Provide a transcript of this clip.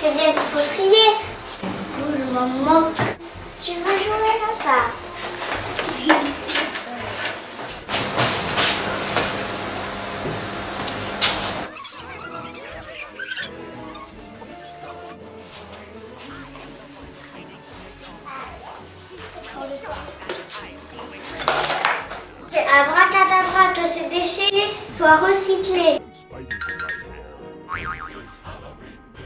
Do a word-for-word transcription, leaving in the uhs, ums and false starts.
C'est bien qu'il faut trier. Oh, je m'en moque. Tu veux jouer à ça? Abracadabra, que ces déchets soient recyclés.